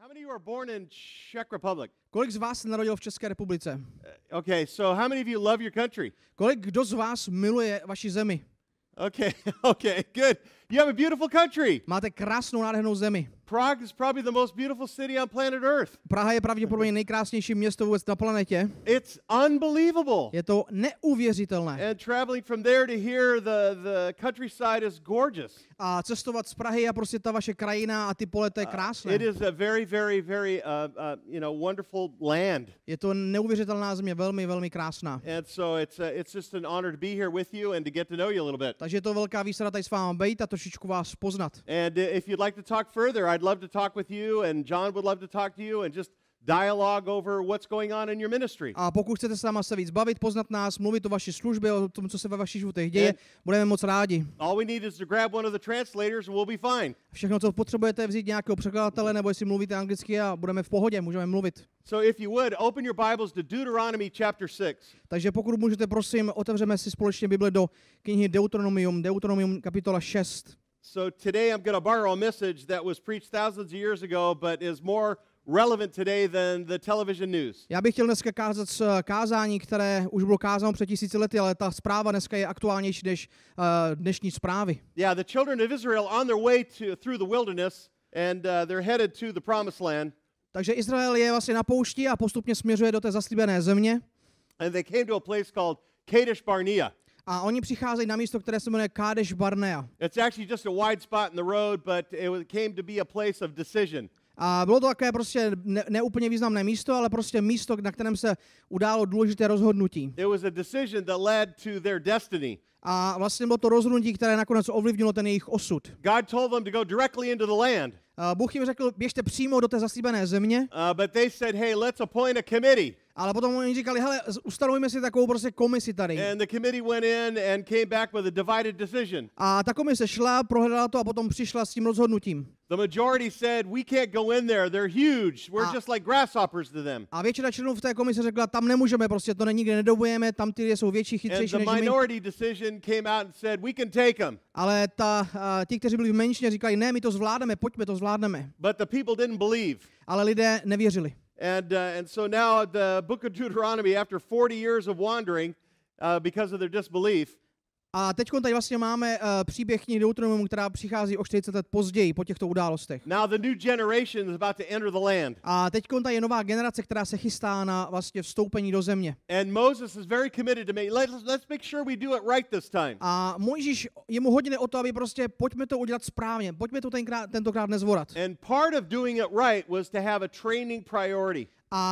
How many of you are born in Czech Republic? Kolik z vás se narodilo v České republice? Okay, so how many of you love your country? Kdo z vás miluje vaši zemi? Okay, okay, good. You have a beautiful country. Máte krásnou, nádhernou zemi. Prague is probably the most beautiful city on planet Earth. Praha je pravděpodobně nejkrásnější město vůbec na planetě. It's unbelievable. Je to neuvěřitelné. And traveling from there to here, the countryside is gorgeous. A cestovat z Prahy a prostě ta vaše krajina a ty pole, to je krásné. It is a very, very, very, wonderful land. Je to neuvěřitelná země, velmi, velmi krásná. And so it's just an honor to be here with you and to get to know you a little bit. Takže je to velká výsada tady s vámi být a trošičku vás poznat. And if you'd like to talk further, I'd love to talk with you, and John would love to talk to you, and just dialogue over what's going on in your ministry. A pokud chcete s náma se víc bavit, poznat nás, mluvit o vaší službě, o tom, co se ve vašich životech děje, budeme moc rádi. All we need is to grab one of the translators and we'll be fine. Všechno, co potřebujete, vzít nějakého překladatele, nebo jestli mluvíte anglicky a budeme v pohodě, můžeme mluvit. So if you would, open your Bibles to Deuteronomy chapter 6. Takže pokud můžete, prosím, otevřeme si společně Bibli do knihy Deuteronomium kapitola 6. So today I'm going to borrow a message that was preached thousands of years ago, but is more relevant today than the television news. Já bych chtěl dneska kázat kázání, které už bylo kázáno před 1000 lety, ale ta zpráva dneska je aktuálnější než dnešní zprávy. Yeah, the children of Israel on their way through the wilderness, and they're headed to the promised land. Takže Izrael je vlastně na poušti a postupně směřuje do té zaslíbené země. And they came to a place called Kadesh Barnea. A oni přicházejí na místo, které se jmenuje Kadesh Barnea. It's actually just a wide spot in the road, but it came to be a place of decision. A bylo to také prostě neúplně významné místo, ale prostě místo, na kterém se událo důležité rozhodnutí. It was a decision that led to their destiny. A vlastně bylo to rozhodnutí, které nakonec ovlivnilo ten jejich osud. God told them to go directly into the land. Bůh jim řekl, běžte přímo do té zaslíbené země. But they said, hey, let's appoint a committee. Ale potom oni říkali, hele, ustanovíme si takovou prostě komisi tady. And the committee went in and came back with a divided decision. A ta komise šla, prohledala to a potom přišla s tím rozhodnutím. The majority said, we can't go in there, they're huge, we're just like grasshoppers to them. A většina členů v té komise řekla, tam nemůžeme, prostě to nikde nedobujeme, tam ty jsou větší, chytřejší než my. And the minority decision came out and said, we can take them. Ale ti, kteří byli v menšině, říkali, ne, my to zvládneme, pojďme, to zvládneme. But the people didn't believe. Ale lidé nevěřili. And so now the book of Deuteronomy, after 40 years of wandering, because of their disbelief, a teď tady vlastně máme příběh knihy Deuteronomium, která přichází o 40 let později po těchto událostech. Now the new generation is about to enter the land. A teď tady je nová generace, která se chystá na vlastně vstoupení do země. And Moses is very committed to let's make sure we do it right this time. A Mojžíš, jemu hodně o to, aby prostě pojďme to udělat správně, pojďme to tentokrát nezvorat. And part of doing it right was to have a training priority.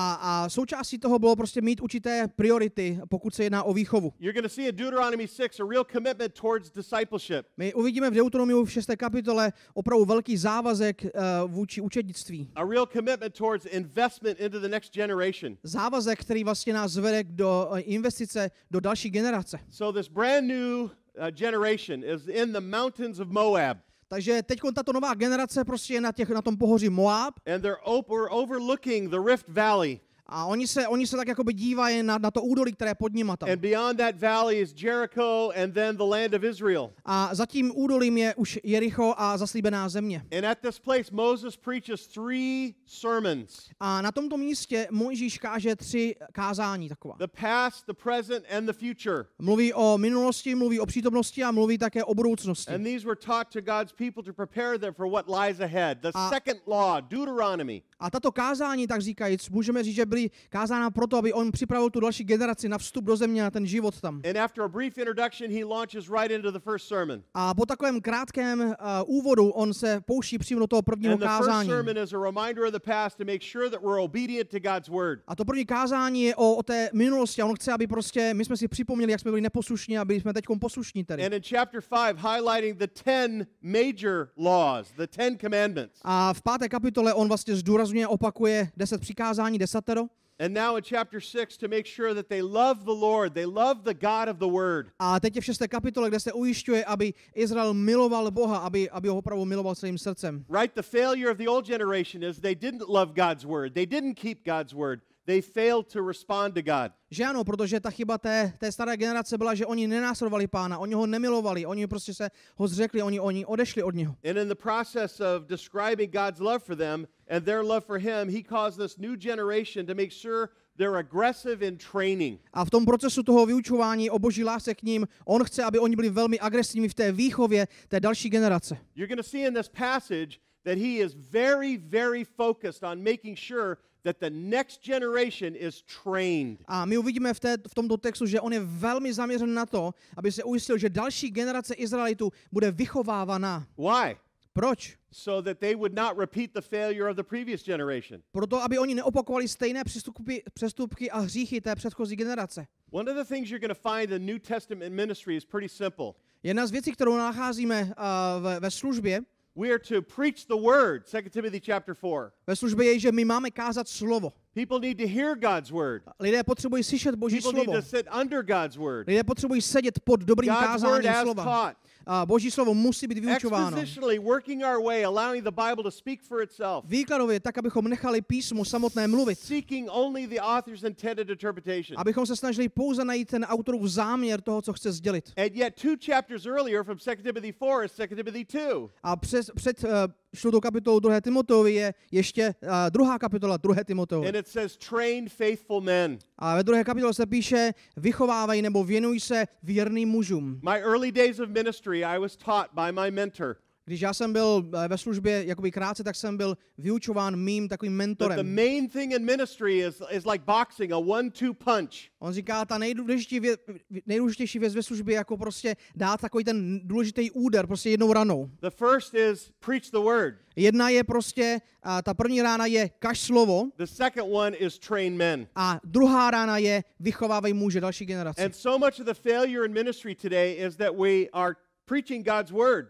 A součástí toho bylo prostě mít určité priority, pokud se jedná o výchovu. You're going to see in Deuteronomy 6 a real commitment towards discipleship. My uvidíme v Deuteronomiu v 6. kapitole opravdu velký závazek vůči učednictví. A real commitment towards investment into the next generation. Závazek, který vlastně nás vede do investice do další generace. So this brand new generation is in the mountains of Moab. Takže teď tato nová generace prostě je na tom pohoří Moab. And they're overlooking the Rift Valley. A oni se tak jakoby dívají na to údolí, které je pod nima tam. And beyond that valley is Jericho and then the land of Israel. A za tím údolím je už Jericho a zaslíbená země. And at this place Moses preaches 3 sermons. A na tomto místě Mojžíš káže 3 kázání taková. The past, the present and the future. Mluví o minulosti, mluví o přítomnosti a mluví také o budoucnosti. And these were taught to God's people to prepare them for what lies ahead. The second law, Deuteronomy. A tato kázání, tak říkajíc, můžeme říct, že byly kázána proto, aby on připravil tu další generaci na vstup do země, na ten život tam. And after a brief introduction, he launches right into the first sermon. A po takovém krátkém úvodu on se pouští přímo do toho prvního kázání. And the first sermon is a reminder of the past to make sure that we're obedient to God's word. A to první kázání je o té minulosti a on chce, aby prostě my jsme si připomněli, jak jsme byli neposlušní, aby jsme teďkom poslušní tedy. And in chapter 5 highlighting the 10 major laws, the 10 commandments. A v 5. kapitole on vlastně zdůrazňuje, opakuje 10 přikázání, 10. And now in chapter 6 to make sure that they love the Lord, they love the God of the word. A teď je v 6. kapitole, kde se ujišťuje, aby Izrael miloval Boha, aby ho opravdu miloval celým srdcem. Right, the failure of the old generation is they didn't love God's word. They didn't keep God's word. they failed to respond to God. Že ano, protože ta chyba té staré generace byla, že oni nenásledovali Pána, oni ho nemilovali, oni prostě se ho zřekli, oni odešli od něho. And in the process of describing God's love for them and their love for him, he caused this new generation to make sure they're aggressive in training. A v tom procesu toho vyučování o Boží lásce k ním, on chce, aby oni byli velmi agresivní v té výchově té další generace. You're going to see in this passage that he is very, very focused on making sure that the next generation is trained. A my uvidíme v tomto textu, že on je velmi zaměřen na to, aby se ujistil, že další generace Izraelitů bude vychovávaná. Why? Proč? So that they would not repeat the failure of the previous generation. Proto, aby oni neopakovali stejné přestupky a hříchy té předchozí generace. One of the things you're going to find in New Testament ministry is pretty simple. Jedna z věcí, kterou nacházíme ve službě, We are to preach the word, 2 Timothy chapter 4. ve službě je, že my máme kázat slovo. People need to hear God's word. Lidé potřebují slyšet Boží People need slovo. to sit under God's word. Lidé potřebují sedět pod dobrým God's word kázáním as slova. taught. A Boží slovo musí být vyučováno. Expositionally working our way, allowing the Bible to speak for itself. Výkladově, tak abychom nechali písmu samotné mluvit. Seeking only the author's intended interpretation. Abychom se snažili pouze najít ten autorův záměr toho, co chce sdělit. And yet 2 chapters earlier from 2 Timothy 4 is 2 Timothy 2. A před 4. kapitolou 2. Timoteovi je ještě 2. kapitola 2. Timoteovi. And it says train faithful men. A ve 2. kapitole se píše, vychovávají nebo věnují se věrným mužům. My early days of ministry, I was taught by my mentor. Když já jsem byl ve službě jakoby krátce, tak jsem byl vyučován mým takovým But the mentorem. main thing in ministry is like boxing, a 1-2 punch. On říká, ta nejdůležitější věc ve službě jako prostě dát takový ten důležitý úder, prostě jednou ranou. The first is preach the word. Jedna je prostě, ta první rána je kaž slovo The second one is train men. a druhá rána je vychovávej muže další generace. And so much of the failure in ministry today is that we are preaching God's word,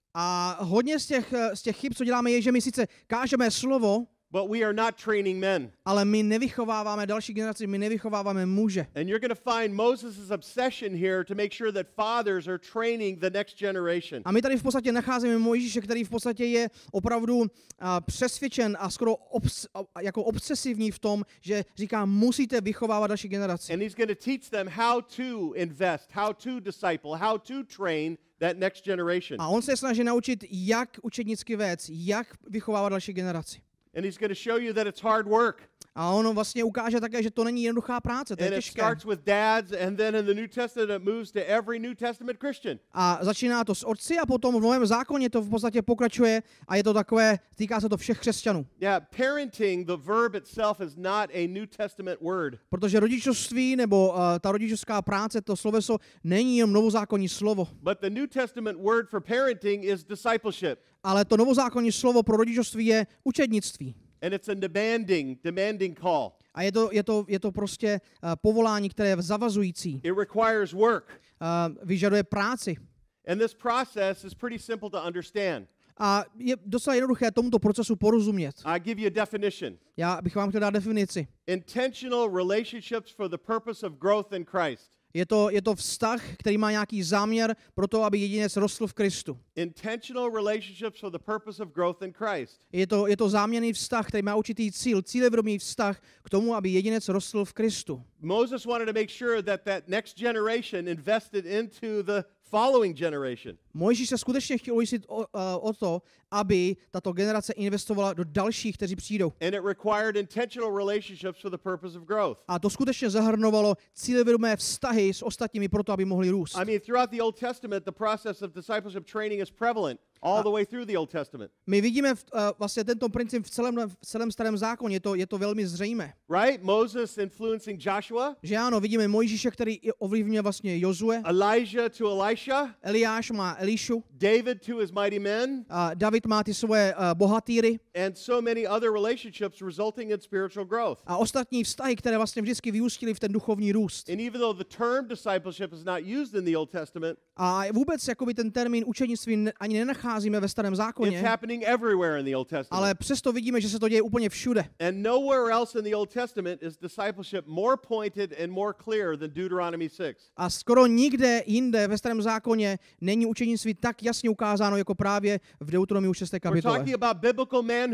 A hodně z těch chyb, co děláme, je, že my sice kážeme slovo, but we are not training men. ale my nevychováváme další generaci, my nevychováváme muže. And you're going to find Moses' obsession here to make sure that fathers are training the next generation. A my tady v podstatě nacházíme Mojžíše, který v podstatě je opravdu přesvědčen a skoro jako obsesivní v tom, že říká, musíte vychovávat další generaci. And he's going to teach them how to invest, how to disciple, how to train that next generation. A on se snaží naučit, jak učednicky vést, jak vychovávat další generaci. And he's going to show you that it's hard work. A on vlastně ukáže také, že to není jednoduchá práce, to je And it těžké. starts with dads, and then in the New Testament it moves to every New Testament Christian. A začíná to s otci a potom v Novém zákoně to v podstatě pokračuje a je to takové, týká se to všech křesťanů. Yeah, parenting, the verb itself is not a New Testament word. Protože rodičovství nebo ta rodičovská práce, to sloveso není jenom novozákonní slovo, But the New Testament word for parenting is discipleship. ale to novozákonní slovo pro rodičovství je učednictví. And it's a demanding call. A je to prostě povolání, které je zavazující. It requires work. Vyžaduje práci. And this process is pretty simple to understand. A je docela jednoduché tomuto procesu porozumět. I give you a definition. Já bych vám chtěl dát definici. Intentional relationships for the purpose of growth in Christ. Je to vztah, který má nějaký záměr pro to, aby jedinec rostl v Kristu. Intentional relationships for the purpose of growth in Christ. Je to záměrný vztah, který má určitý cíl, cílevědomý vztah k tomu, aby jedinec rostl v Kristu. Moses wanted to make sure that next generation invested into the following generation. Mojžíš se skutečně chtěl ujistit o to, aby tato generace investovala do dalších, kteří přijdou. And it required intentional relationships for the purpose of growth. A to skutečně zahrnovalo cílevědomé vztahy s ostatními proto, aby mohli růst. I mean, throughout the Old Testament, the process of discipleship training is prevalent all the way through the Old Testament. My vidíme vlastně tento princip v celém starém zákoně, je to velmi zřejmé. Right? Moses influencing Joshua, Že ano, vidíme Mojžíše, který ovlivňuje vlastně Jozue, Elijah to Elisha, Eliáš má Elišu, David to his mighty men, a David má ty svoje bohatýry and so many other relationships resulting in spiritual growth. a ostatní vztahy, které vlastně vždycky vyústily v ten duchovní růst. And even though the term discipleship is not used in the Old Testament, A vůbec jakoby ten termín učednictví ani nenacházíme ve starém it's zákoně, happening everywhere in the Old Testament. ale přesto vidíme, že se to děje úplně všude. And nowhere else in the Old Testament is discipleship more pointed and more clear than Deuteronomy 6. A skoro nikde jinde ve starém zákoně není učednictví tak jasně ukázáno jako právě v Deuteronomiu 6. We're kapitole. talking about biblical manhood.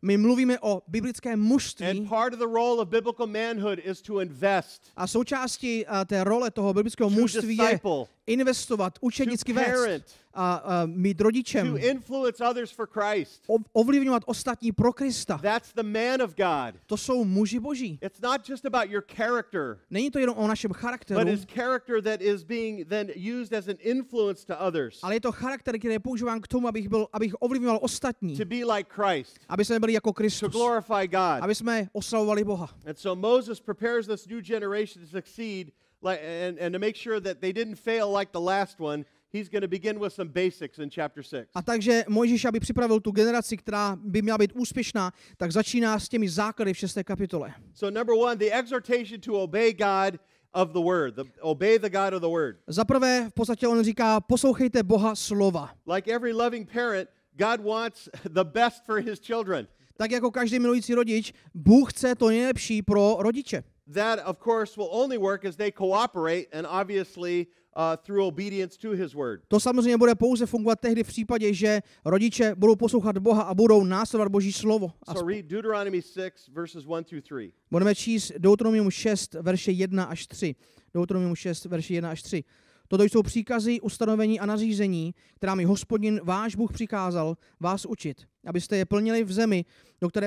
My mluvíme o biblickém mužství And part of the role of biblical manhood is to invest, a součástí té role toho biblického to mužství je disciple, investovat, učednicky to parent, vést a mít rodičem, to influence others for Christ. ovlivňovat ostatní pro Krista. That's the man of God. To jsou muži boží. It's not just about your character, Není to jenom o našem but charakteru, his character that is being then used as an influence to others, ale je to charakter, který je používán k tomu, abych ovlivňoval ostatní, to be like Christ, aby jsme byli jako to Kristus, glorify God. aby jsme oslavovali Boha. And so Moses prepares this new generation to succeed and to make sure that they didn't fail like the last one. He's going to begin with some basics in chapter 6. A takže Mojžíš, aby připravil tu generaci, která by měla být úspěšná, tak začíná s těmi základy v 6. kapitole. So number 1, the exhortation to obey God of the word. Obey the God of the word. Za prvé, v podstatě on říká, poslouchejte Boha slova. Like every loving parent, God wants the best for his children. Tak jako každý milující rodič, Bůh chce to nejlepší pro rodiče. That, of course, will only work as they cooperate and obviously through obedience to his word. To samozřejmě bude pouze fungovat tehdy v případě, že rodiče budou poslouchat Boha a budou následovat Boží slovo. So read Deuteronomy 6, verses 1 through 3. Budeme číst Deuteronomium 6, verše 1 až 3. Deuteronomium 6, verše 1 až 3. Toto jsou příkazy, ustanovení a nařízení, která mi Hospodin, váš Bůh, přikázal vás učit, abyste je plnili v zemi, do které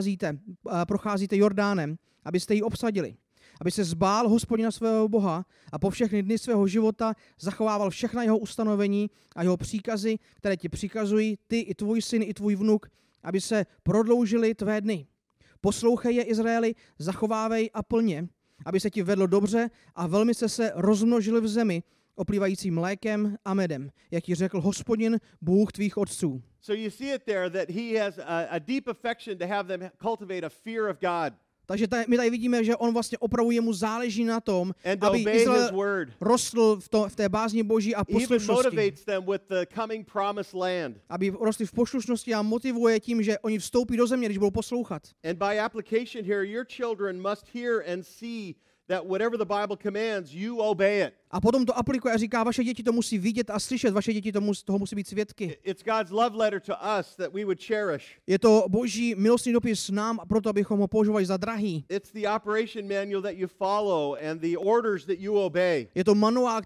procházíte Jordánem, abyste ji obsadili. Aby se zbál Hospodina svého Boha a po všechny dny svého života zachovával všechna jeho ustanovení a jeho příkazy, které ti přikazují, ty i tvůj syn, i tvůj vnuk, aby se prodloužily tvé dny. Poslouchej je, Izraeli, zachovávej a plně, aby se ti vedlo dobře a velmi se rozmnožili v zemi, oplývající mlékem a medem, jak ti řekl Hospodin, Bůh tvých otců. So you see it there that he has a deep affection to have them cultivate a fear of God. Takže my tady vidíme, že on vlastně opravdu jemu záleží na tom, And aby obey his Izrael word. rostl v té bázni Boží a He even poslušnosti. motivates them with the coming promised land. Aby rostli v poslušnosti a motivuje tím, že oni vstoupí do země, když budou poslouchat. And by application here, your children must hear and see that whatever the Bible commands, you obey it. A potom to aplikuje a říká, vaše děti to musí vidět a slyšet, vaše děti toho musí být svědky. It's God's love letter to us that we would cherish. Je to Boží milostný dopis nám a proto, abychom ho používali za drahý. It's the operation manual that you follow and the orders that you obey. Je to manuál,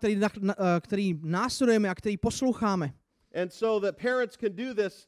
který následujeme a který posloucháme. And so that parents can do this,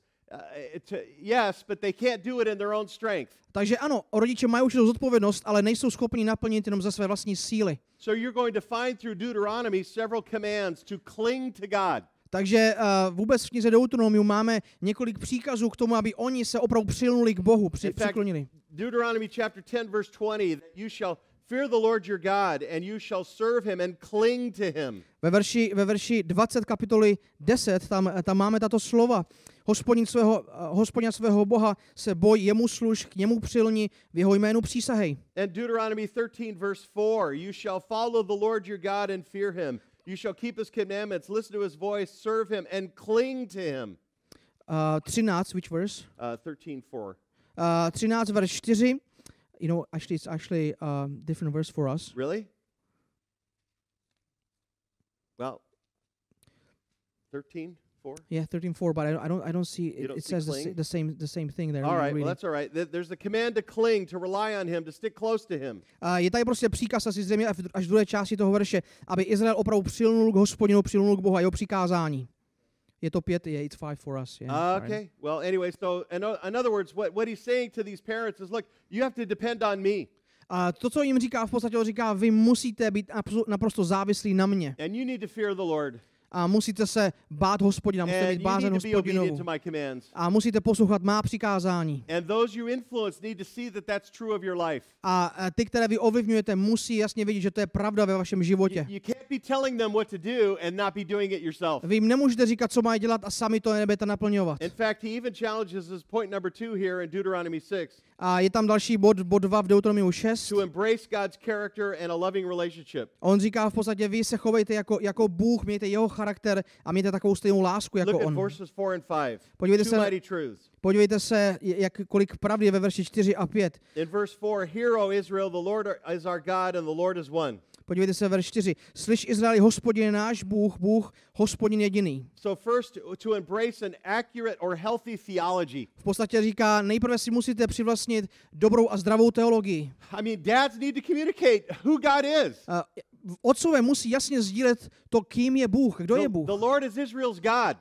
yes, but they can't do it in their own strength. Takže ano, rodiče mají určitou zodpovědnost, ale nejsou schopni naplnit jenom ze své vlastní síly. So you're going to find through Deuteronomy several commands to cling to God. Takže vůbec v knize Deuteronomium máme několik příkazů k tomu, aby oni se opravdu přilnuli k Bohu, přiklonili. Deuteronomy chapter 10 verse 20, that you shall fear the Lord your God and you shall serve him and cling to him. Ve verši 20 kapitoly 10 tam máme tato slova. Hospodina svého Boha se boj, jemu služ, k němu přilni, v jeho jménu přísahej. And Deuteronomy 13 verse 4, you shall follow the Lord your God and fear him. You shall keep his commandments, listen to his voice, serve him and cling to him. 13, which verse? 13:4. 13 verš 4. You know, actually it's actually a different verse for us. Really? Well, 13:4. Yeah, 13:4, but I don't see You don't it see says cling? the same thing there. All right, well Really. that's all right. There's a command to cling, to rely on him, to stick close to him. Je tady prostě příkaz asi zřejmě až v druhé části toho verše, aby Izrael opravdu přilnul k Hospodinu, přilnul k Bohu a jeho přikázání. Je to 5, yeah, it's 5 for us. Yeah, Okay. Well, anyway, so in other words, what he's saying to these parents is, look, you have to depend on me. A to, co jim říká, v podstatě říká, vy musíte být naprosto závislí na mě. And you need to fear the Lord. A musíte se bát Hospodina, musíte And mít you bázeň need to be obedient Hospodinovu. to my commands. A musíte poslouchat má přikázání. And those you influence need to see that that's true of your life. A ty, které vy ovlivňujete, musí jasně vidět, že to je pravda ve vašem životě. You can't be telling them what to do and not be doing it yourself. Vy jim nemůžete říkat, co mají dělat a sami to nebudete naplňovat. In fact, he even challenges us, point number 2 here in Deuteronomy 6, A je tam další bod 2 v Deuteronomiu 6. to embrace God's character and a loving relationship. On říká v podstatě, vy se chovejte jako Bůh, mějte jeho charakter a mějte takovou stejnou lásku jako Look at on. verses 4 and 5. Podívejte Two se, mighty truths. podívejte se, kolik pravdy je ve verši 4 a 5. In verse 4, hear, O Israel, the Lord is our God and the Lord is one. Podívejte se verš 4. Slyš Izraeli, Hospodin je náš Bůh, Bůh, Hospodin jediný. So first, to embrace an accurate or healthy theology. V podstatě říká, nejprve si musíte přivlastnit dobrou a zdravou teologii. I mean, dads need to communicate who God is. Otcové musí jasně sdílet to, kým je Bůh, kdo je Bůh. The Lord is Israel's God.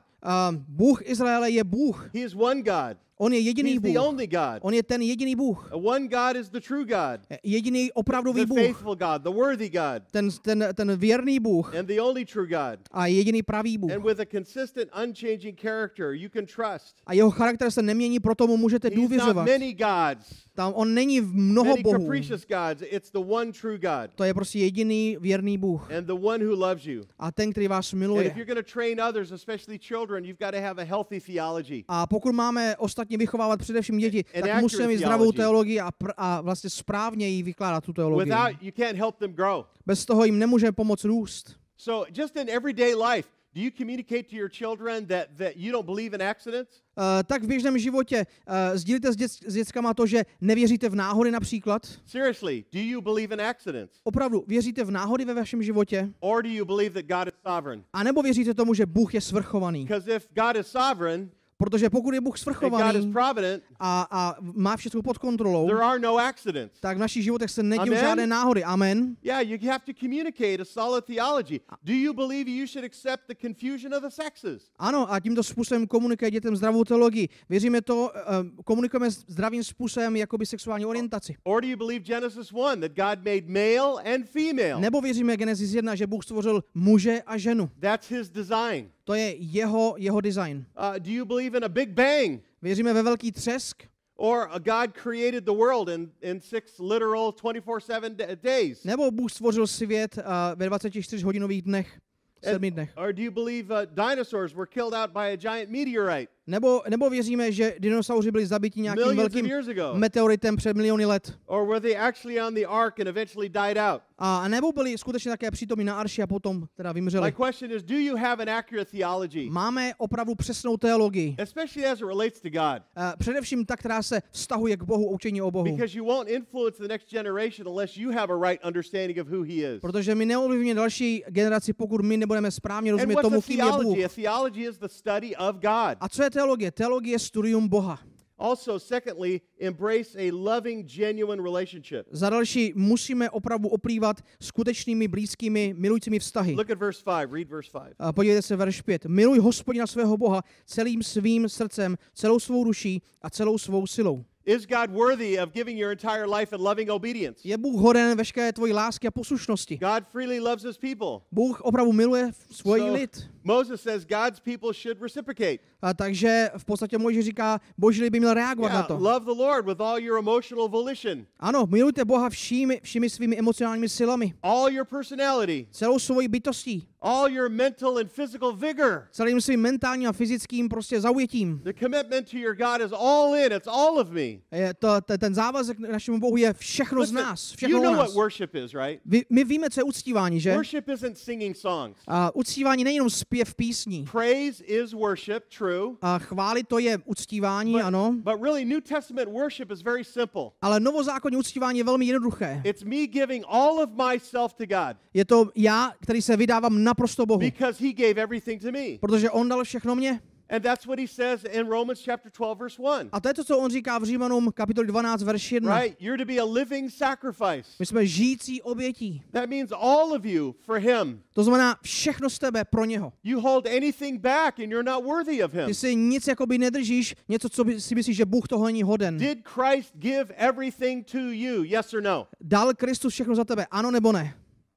Bůh Izraele je Bůh. He is one God. On je jediný He's Bůh. the only God. On je ten jediný Bůh. One God is the true God. Jediný opravdový The Bůh. faithful God, the worthy God. Ten věrný Bůh. And the only true God. A jediný pravý Bůh. And with a consistent, unchanging character, you can trust. A jeho charakter se nemění, proto mu můžete He's not důvěřovat. many gods. Tam on není mnoho Many bohů. capricious gods. It's the one true God. To je prostě jediný věrný Bůh. And the one who loves you. A ten, který vás And if miluje. you're going to train others, especially children, you've got to have a healthy theology. A pokud máme ostatně vychovávat především děti, An tak musíme mít accurate zdravou theology. teologii a vlastně správně jí vykládat tu teologii. Without, you can't help them grow. Bez toho jim nemůže pomoct růst. So just in everyday life, do you communicate to your children that you don't believe in accidents? Tak v běžném životě sdílíte s dětskama to, že nevěříte v náhody například? Seriously, do you believe in accidents? Opravdu, věříte v náhody ve vašem životě? Or do you believe that God is sovereign? A nebo věříte tomu, že Bůh je svrchovaný? Because if God is sovereign Protože pokud je Bůh and God is svrchovaný provident, a má všechno pod kontrolou, there are no accidents. tak v našich životech se nedějí Amen. žádné náhody. Amen. Yeah, you have to communicate a solid theology. Do you believe you should accept the confusion of the sexes? Ano, a tímto způsobem komunikuje dětem zdravou teologii. Věříme to, komunikujeme zdravým způsobem jakoby sexuální orientaci. Or do you believe Genesis 1 that God made male and female? Nebo věříme Genesis 1, že Bůh stvořil muže a ženu. That's his design. To je jeho design. Do you believe in a big bang? Věříme ve velký třesk? Or God created the world in 6 literal 24/7 days? Nebo Bůh stvořil svět ve 24-hodinových dnech, 7 dnech? Or do you believe dinosaurs were killed out by a giant meteorite Nebo věříme, že dinosauři byli zabiti nějakým millions of velkým years ago? meteoritem před miliony let? Or were they actually on the ark and eventually died out? A nebo byli skutečně také přítomní na arši a potom teda My vymřeli? question is, do you have an accurate theology? Máme opravdu přesnou teologii. Especially as it relates to God. Především ta, která se vztahuje k Bohu, učení o Bohu. Because you won't influence the next generation unless you have a right understanding of who he is. Protože my neovlivníme další generaci, pokud my nebudeme správně And rozumět what's tomu, a kým je Bůh. theology? A theology is the study of God. A co je teologie? Teologie je studium Boha. Also, secondly, embrace a loving, genuine relationship. Za další, musíme opravdu oplývat skutečnými, blízkými, milujícími vztahy. Look at verse 5. Read verse 5. Podívejte se verš 5. Miluj Hospodina svého Boha celým svým srdcem, celou svou duší a celou svou silou. Is God worthy of giving your entire life in loving obedience? Je Bůh hoden veškeré tvojí lásky a poslušnosti. God freely loves his people. Bůh opravdu miluje svůj lid. Moses says God's people should reciprocate. A takže v podstatě Mojžíš říká, Boží lid by měl reagovat na to. Love the Lord with all your emotional volition. Ano, milujte Boha všemi svými emocionálními silami. All your personality. Celou svojí bytostí. All your mental and physical vigor. Celým svým mentálním a fyzickým prostě zaujetím. The commitment to your God is all in. It's all of me. Ten závazek k našemu Bohu je všechno z nás. Všechno You know o what nás. worship is, right? My víme, co je uctívání, že? Worship isn't singing songs. A uctívání není jenom zpěv písní. Praise is worship, true. A chválit to je uctívání, ano. But really, New Testament worship is very simple. Ale novozákonní uctívání je velmi jednoduché. It's me giving all of myself to God. Je to já, který se vydávám naprosto Bohu. Because he gave everything to me. Protože on dal všechno mně. And that's what he says in Romans chapter 12 verse 1. A to je to, co on říká v Římanům kapitoli 12, verš 1. Right? You're to be a living sacrifice. My jsme žijící obětí. That means all of you for him. To znamená všechno z tebe pro něho. You hold anything back and you're not worthy of him. Ty si nic jakoby nedržíš, něco, co si myslíš, že Bůh toho není hoden. Did Christ give everything to you? Yes or no? Dal Kristus všechno za tebe, ano nebo ne?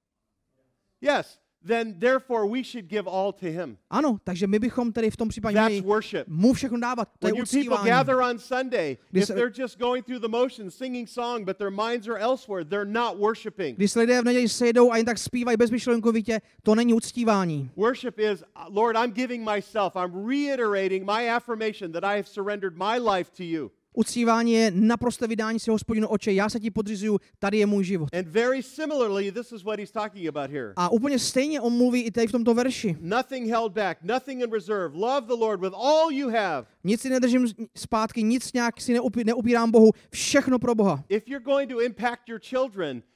Yes. Then therefore we should give all to him. Ano, takže my bychom tedy v tom případě That's měli worship. mu všechno dávat. To je When you people uctívání. gather on Sunday, Když if se- they're just going through the motions, singing song, but their minds are elsewhere, they're not worshiping. Když se lidé v neděli sejdou a jen tak zpívají bezmyšlenkovitě, to není uctívání. Worship is, Lord, I'm giving myself, I'm reiterating my affirmation that I have surrendered my life to you. Uctívání je naprosté vydání si Hospodinu oče, já se ti podřizuju, tady je můj život. And very similarly, this is what he's talking about here. A úplně stejně on mluví i tady v tomto verši. Nothing held back, nothing in reserve. Love the Lord with all you have. Nic si nedržím zpátky, nic nějak si neupírám Bohu, všechno pro Boha. If you're going to impact your children,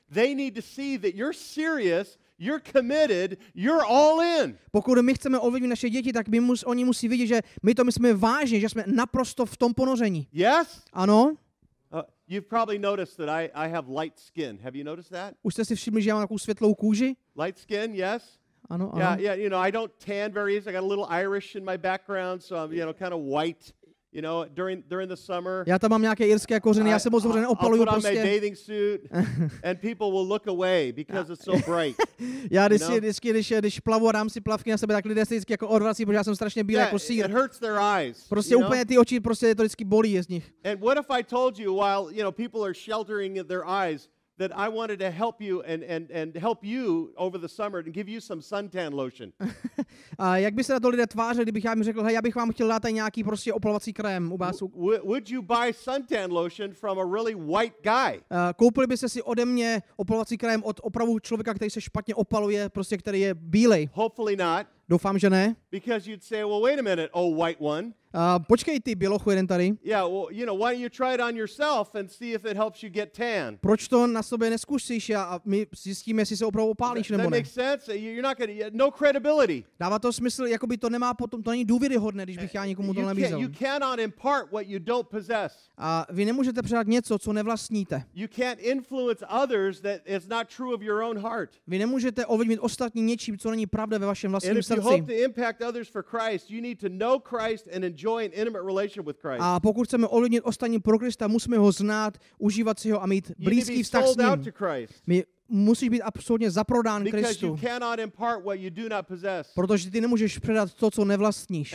They need to see that you're serious, you're committed, you're all in. Pokud my chceme ovlivnit naše děti, tak oni musí vidět, že my to myslíme vážně, že jsme naprosto v tom ponoření. Yes? Ano? You've probably noticed that I have light skin. Have you noticed that? Už jste si všimli, že já mám takovou světlou kůži? Light skin, yes? Ano, ano. Yeah, you know, I don't tan very easy. I got a little Irish in my background, so I'm, kind of white. You know, during the summer. Já tam mám nějaké irské kořeny, já se moc dobře neopaluju I'll put on my prostě. bathing suit, and people will look away because it's so bright. Já když plavu a dám si plavky na sebe, tak lidé se vždycky jako odvrací, protože já jsem strašně bílý jako sýr. It hurts their eyes. Prostě úplně ty oči, prostě to vždycky bolí z nich. And what if I told you while, people are sheltering their eyes, that I wanted to help you and help you over the summer and give you some suntan lotion. A jak by se na to lidé tvářili, kdybych já jim řekl, hej, já bych vám chtěl dát nějaký prostě opalovací krém u vás. Would you buy suntan lotion from a really white guy? Koupili byste si ode mě opalovací krém od opravdu člověka, který se špatně opaluje, prostě který je bílej? Hopefully not. Doufám, že ne. Because you'd say, well, wait a minute, oh white one. Počkej ty, bělochu jeden tady. Yeah, well, why don't you try it on yourself and see if it helps you get tan? Proč to na sobě neskusíš a my zjistíme, jestli se opravdu opálíš nebo ne. That makes sense. You're not going to no credibility. Dává to smysl, jakoby to nemá potom, to není důvěryhodné, když bych já někomu to nabízel. You cannot impart what you don't possess. A vy nemůžete předat něco, co nevlastníte. You can't influence others that is not true of your own heart. Vy nemůžete ovlivnit ostatní něčím, co není pravda ve vašem vlastním srdci. And if you hope to impact others for Christ, you need to know Christ and enjoy an intimate relationship with Christ. A pokud chceme ovlivnit ostatní pro Krista, musíme ho znát, užívat si ho a mít blízký vztah s ním. My musíš být absolutně zaprodán Kristu. Protože ty nemůžeš předat to, co nevlastníš.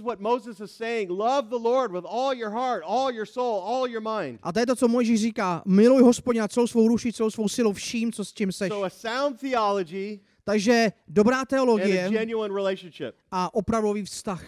A to je to, co Mojžíš říká. Miluj Hospodina celou svou duší, celou svou silou, vším, co s čím seš. Takže dobrá teologie a opravdový vztah.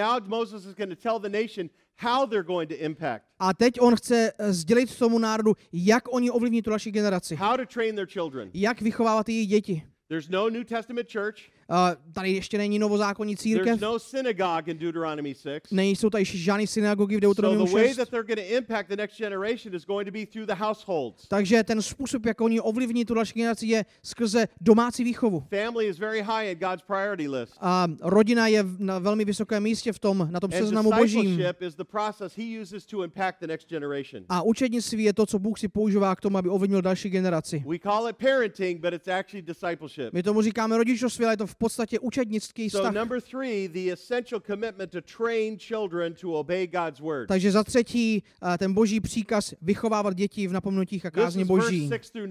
A teď on chce sdělit tomu národu, jak oni ovlivní tu další generaci. Jak vychovávat jejich děti. There's no New Testament church. Tady ještě není novozákonní církev. There's no synagogue in Deuteronomy 6. Nejsou tady žádné synagogy v Deuteronomiu 6. So the way that they're going to impact the next generation is going to be through the households. Takže ten způsob, jak oni ovlivní tu další generaci, je skrze domácí výchovu. Family is very high in God's priority list. A rodina je na velmi vysokém místě na tom seznamu božím. Discipleship is the process he uses to impact the next generation. A učednictví je to, co Bůh si používá k tomu, aby ovlivnil další generaci. We call it parenting, but it's actually discipleship. My tomu říkáme rodičovství, ale je to v podstatě učednický vztah. So number 3, the essential commitment to train children to obey God's word. Takže za třetí ten boží příkaz vychovávat děti v napomenutích a kázni boží.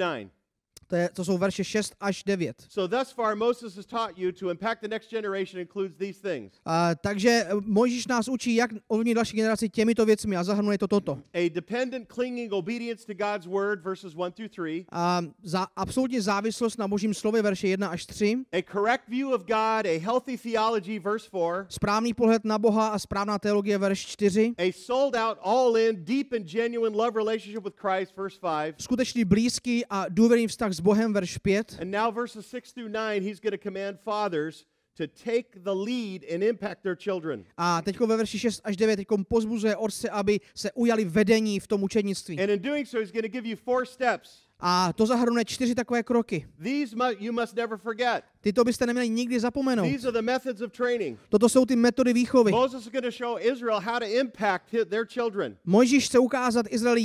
To jsou verše 6 až 9. So thus far Moses has taught you to impact the next generation includes these things. Takže Mojžíš nás učí, jak ovlivnit další generaci těmito věcmi a zahrnuje to toto. A dependent clinging obedience to God's word verses 1 through 3. Za absolutní závislost na božím slově verše 1 až 3. A correct view of God, a healthy theology verse 4. Správný pohled na Boha a správná teologie verš 4. A sold out all in deep and genuine love relationship with Christ verse 5. Skutečný blízký a důvěrný vztah s Bohem verš 5. And now verses 6 through 9 he's going to command fathers to take the lead and impact their children. A teďko ve verši 6 až 9 teďko pozbuzuje otce, aby se ujali vedení v tom učednictví. And in doing so he's going to give you 4 steps. A to zahrnuje 4 takové kroky. These you must never forget. Tyto byste neměli nikdy zapomenout. These are the methods of training. Toto jsou ty metody výchovy. Moses is going to show Israel how to impact their children. Mojžíš chce ukázat Izraeli,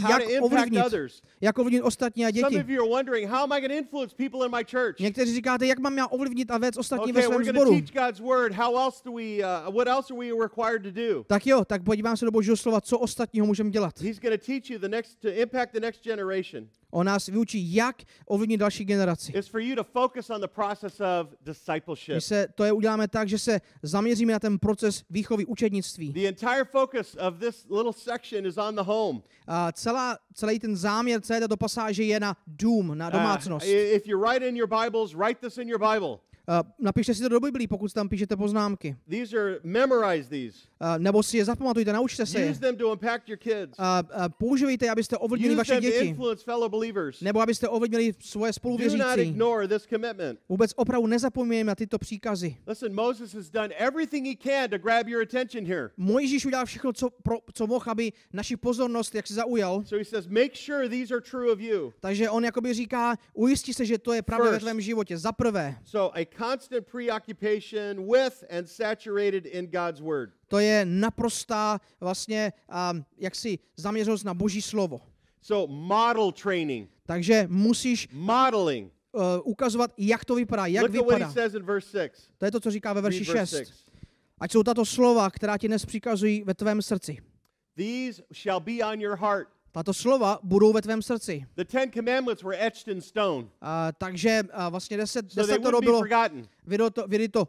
jak ovlivnit ostatní a děti. Some of you are wondering, how am I going to influence people in my church? Někteří říkáte, jak mám já ovlivnit a vést ostatní ve svém sboru. We're going to teach God's word. What else are we required to do? Tak jo, tak podívám se do Božího slova, co ostatního můžeme dělat. He's going to teach you to impact the next generation. On nás vyučí, jak ovlivnit další generaci. It's for you to focus on the process of discipleship. My uděláme tak, že se zaměříme na ten proces výchovy učednictví. The entire focus of this little section is on the home. Celý ten záměr celé této pasáže je na dům, na domácnost. If you write in your Bibles, write this in your Bible. Napište si to do Biblii, pokud tam píšete poznámky. Memorize these. Nebo si je zapamatujte, naučte se je. Use them to impact your kids. Používejte je, abyste ovlivnili Use vaše them to děti. influence fellow believers. Nebo abyste ovlivnili svoje Do not spoluvěřící. ignore this commitment. Vůbec opravdu nezapomínáme na tyto příkazy. Listen, Moses has done everything he can to grab your attention here. Mojžíš udělal všechno, co mohl, aby naši pozornost jak se zaujal. So he says, make sure these are true of you. Takže on jakoby říká, ujistí se, že to je pravda ve First. tvém životě. Za prvé, So a constant preoccupation with and saturated in God's word. to je naprostá vlastně jaksi zaměřenost na Boží slovo. So model training, Takže musíš modeling. ukazovat, jak to vypadá, jak Look at what he vypadá. says in verse 6. To je to, co říká ve verši Read verse 6. 6. Ať jsou tato slova, která ti dnes přikazují ve tvém srdci. These shall be on your heart. Tato slova budou ve tvém srdci. The 10 commandments were etched in stone, Takže vlastně so they desetoro wouldn't be bylo forgotten. vyryto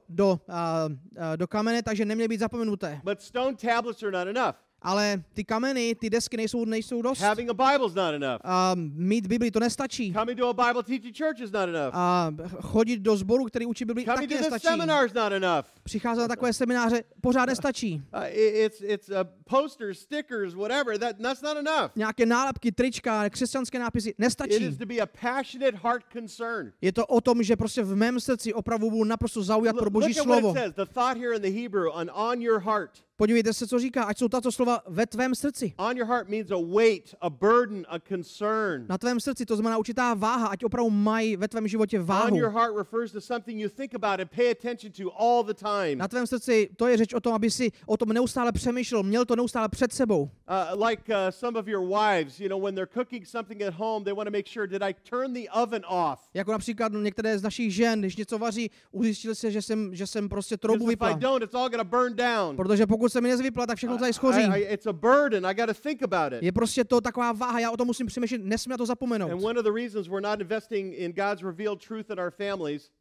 do kamene, takže neměly být zapomenuté. But stone tablets are not enough. Ale ty kameny, ty desky nejsou dost. Having a Bible is not enough. Mít Bibli to nestačí. Coming to a Bible teaching church is not enough. Chodit do sboru, který učí Bibli, Coming taky to this nestačí. seminar is not enough. Přicházet na takové semináře pořád nestačí. It's posters, stickers, whatever. That's not enough. Nějaké nálepky, trička, křesťanské nápisy It nestačí. is to be a passionate heart concern. Je to o tom, že prostě v mém srdci opravdu budu naprosto zaujat pro Boží Look at what slovo. it says. The thought here in the Hebrew, on your heart. Podívejte se, co říká, ať jsou tato slova ve tvém srdci. On your heart means a weight, a burden, a concern. Na tvém srdci, to znamená určitá váha, ať opravdu mají ve tvém životě On váhu. your heart refers to something you think about and pay attention to all the time. Na tvém srdci, to je řeč o tom, aby si o tom neustále přemýšlel, měl to neustále před sebou. Like some of your wives, when they're cooking something at home, they want to make sure, did I turn the oven off? Jako například některé z našich žen, když něco vaří, ujistil se, že jsem prostě troubu Because if I vypla. don't, it's all going to burn down. Protože pokud se mi nezvypla, tak všechno tady schoří. It's a burden. I got to think about it. Je prostě to taková váha, já o tom musím přemýšlet, nesmím na to And zapomenout. one of the reasons we're not investing in God's revealed truth in our families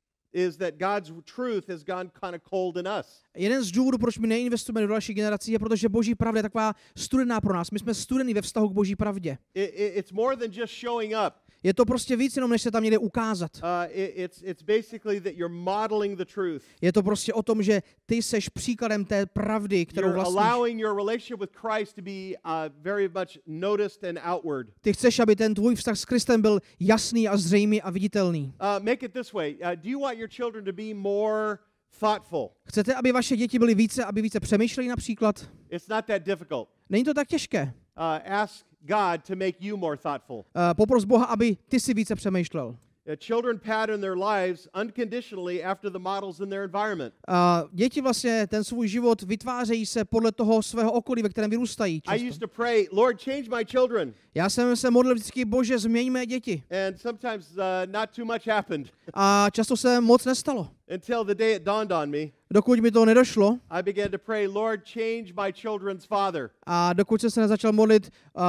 is that God's truth has gone kind of cold in us. Jeden z důvodů, proč my neinvestujeme do další generací, je protože Boží pravda je taková studená pro nás. My jsme studení ve vztahu k Boží pravdě. It's more than just showing up. Je to prostě víc jenom, než se tam někde ukázat. It's basically that you're modeling the truth. Je to prostě o tom, že ty seš příkladem té pravdy, kterou You're vlastníš. allowing your relationship with Christ to be very much noticed and outward. Ty chceš, aby ten tvůj vztah s Kristem byl jasný a zřejmý a viditelný. Make it this way. Do you want your children to be more thoughtful? Chcete, aby vaše děti byly aby více přemýšleli například? It's not that difficult. Není to tak těžké. Ask God to make you more thoughtful. Popros Boha, aby ty si více přemýšlel. Children pattern their lives unconditionally after the models in their environment. Děti vlastně ten svůj život vytvářejí se podle toho svého okolí, ve kterém vyrůstají. I used to pray, Lord, change my children. Já jsem se modlil vždycky, Bože, změň mé děti. And sometimes not too much happened A často se moc nestalo. until the day it dawned on me. Dokud mi to nedošlo I began to pray, Lord, change my children's father. a dokud jsem se nezačal modlit,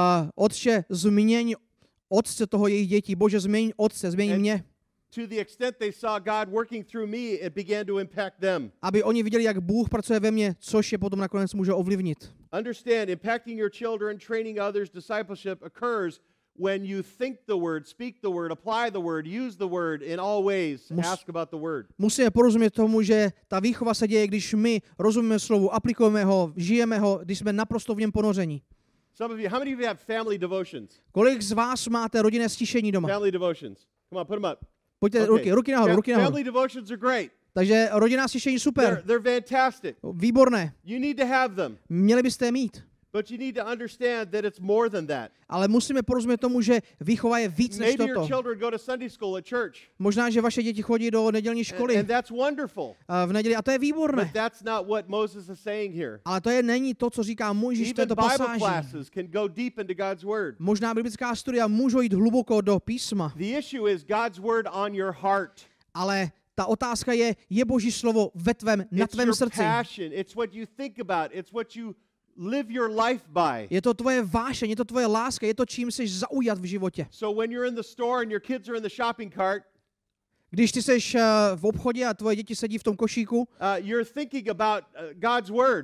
Otče, změň otce toho jejich dětí. Bože, změň otce, změň mě. To the extent they saw God working through me, it began to impact them. Aby oni viděli, jak Bůh pracuje ve mně, což je potom nakonec může ovlivnit. Understand, impacting your children, training others, discipleship occurs when you think the word, speak the word, apply the word, use the word in all ways, ask about the word. Musíme porozumět tomu, že ta výchova se děje, když my rozumíme slovu, aplikujeme ho, žijeme ho, když jsme naprosto v něm ponoření. Some of you, how many of you have family devotions? Kolik z vás máte rodinné stišení doma? Family devotions. Come on, put them up. Pojďte Okay. ruky nahoru, ruky nahoru. Family devotions are great. Takže rodinná stišení super, They're fantastic. výborné. You need to have them. Měli byste je mít. But you need to understand that it's more than that. Ale musíme porozumět tomu, že výchova je víc než Maybe your toto. children go to Sunday school at church. Možná, že vaše děti chodí do nedělní školy And that's wonderful. v neděli a to je But výborné. that's not what Moses is saying here. Ale to není to, co říká Mojžíš v Even této Bible pasáži. classes can go deep into God's word. Možná biblická studia můžou jít hluboko do písma, The issue is God's word on your heart. ale ta otázka je Boží slovo na It's tvém your srdci. passion. It's what you think about. It's what you live your life by. Je to tvoje vášeň, je to tvoje láska, je to, čím jsi zaujat v životě. So when you're in the store and your kids are in the shopping cart, Když ty seš v obchodě a tvoje děti sedí v tom košíku, you're thinking about God's word.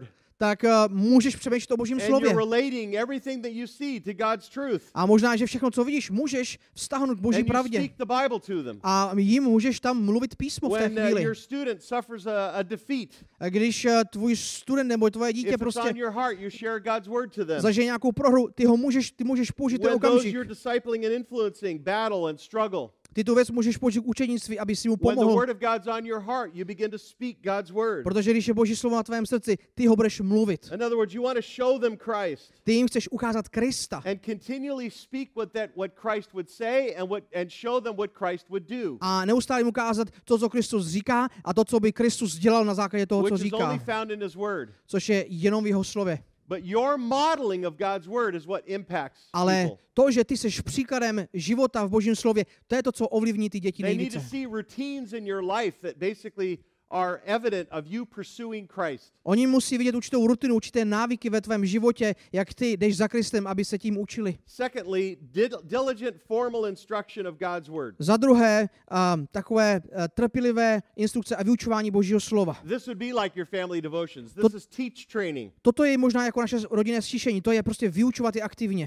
tak můžeš přemýšlet o Božím And slově. you're relating everything that you see to God's truth. A možná, že všechno, co vidíš, můžeš vztáhnout k Boží And you pravdě. speak the Bible to them. A jim můžeš tam mluvit písmo v té When chvíli. your student suffers a defeat, A když tvůj student nebo tvoje dítě if it's prostě on your heart, you share God's word to them. zažije nějakou prohru, ty můžeš použít ten When those okamžik. you're discipling and influencing battle and struggle, Ty tu věc můžeš použít k učenictví, aby si mu when the pomohl. word of God's on your heart, you begin to speak God's word. Protože když je Boží slovo na tvém srdci, ty ho budeš mluvit. In other words, you want to show them Christ Ty jim chceš ukázat Krista. and continually speak what Christ would say and show them what Christ would do, A neustále jim ukázat to, co Kristus říká a to, co by Kristus dělal na základě toho, co which is only říká. found in his word. Což je jenom v jeho slově. But your modeling of God's word is what impacts Ale people. to, že ty seš příkladem života v Božím slově, to je to, co ovlivní ty děti They need to nejvíce. see routines in your life that basically are evident of you pursuing Christ. Oni musí vidět určitou rutinu, určité návyky ve tvém životě, jak ty jdeš za Kristem, aby se tím učili. Secondly, diligent formal instruction of God's word. Za druhé, takové trpělivé instrukce a vyučování Božího slova. This would be like your family devotions. This is teach training. Toto je možná jako naše rodinné stišení, to je prostě vyučovat je aktivně.